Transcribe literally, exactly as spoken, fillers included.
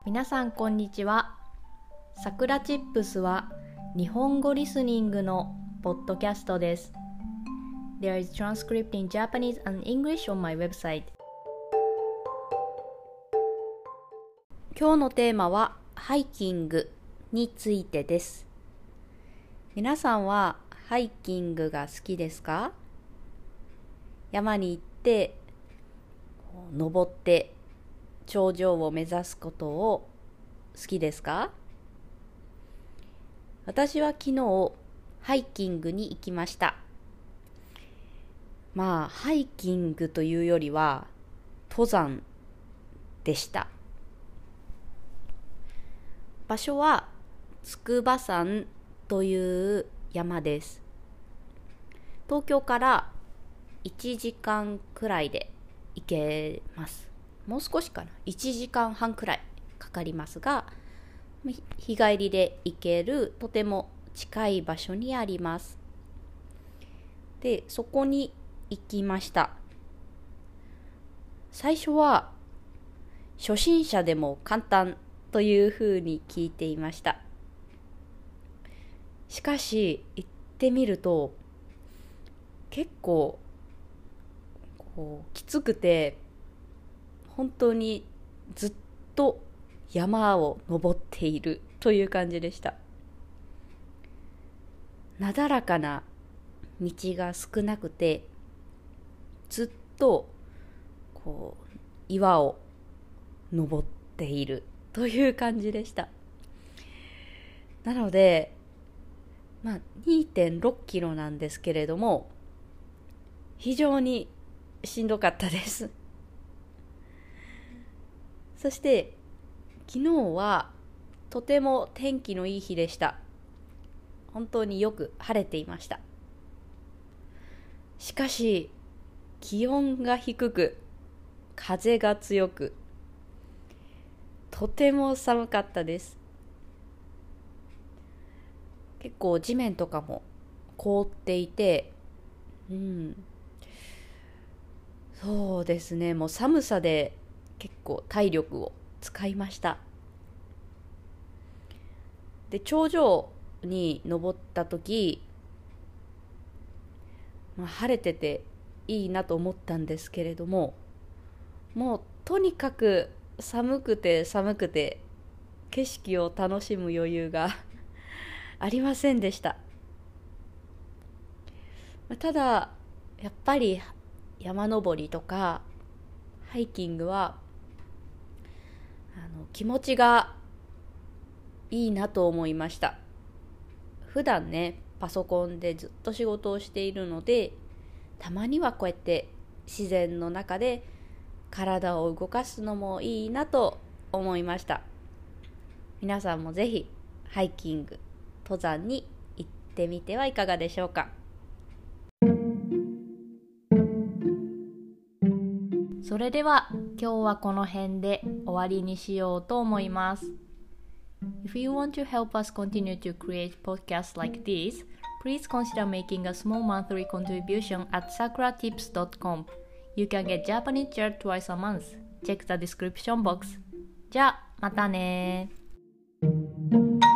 皆さんこんにちは。さくらチップスは日本語リスニングのポッドキャストです。There is transcript in Japanese and English on my website. 今日のテーマはハイキングについてです。皆さんはハイキングが好きですか？山に行って登って頂上を目指すことを好きですか？私は昨日ハイキングに行きました。まあハイキングというよりは登山でした。場所は筑波山という山です。東京からいちじかんくらいで行けます。もう少しかな、いちじかんはんくらいかかりますが、日帰りで行けるとても近い場所にあります。で、そこに行きました。最初は初心者でも簡単というふうに聞いていました。しかし行ってみると結構こうきつくて、本当にずっと山を登っているという感じでした。なだらかな道が少なくて、ずっとこう岩を登っているという感じでした。なので、まあ にてんろっキロなんですけれども、非常にしんどかったです。そして昨日はとても天気のいい日でした。本当によく晴れていました。しかし気温が低く、風が強く、とても寒かったです。結構地面とかも凍っていて、うん、そうですね、もう寒さで結構体力を使いました。で、頂上に登った時、まあ、晴れてていいなと思ったんですけれども、もうとにかく寒くて寒くて景色を楽しむ余裕がありませんでした。ただやっぱり山登りとかハイキングはあの気持ちがいいなと思いました。普段ね、パソコンでずっと仕事をしているので、たまにはこうやって自然の中で体を動かすのもいいなと思いました。皆さんもぜひハイキング、登山に行ってみてはいかがでしょうか。それでは今日はこの辺で終わりにしようと思います。If you want to help us continue to create podcasts like this, please consider making a small monthly contribution at sakura tips dot com. You can get Japanese chair twice a month. Check the description box. じゃあまたね。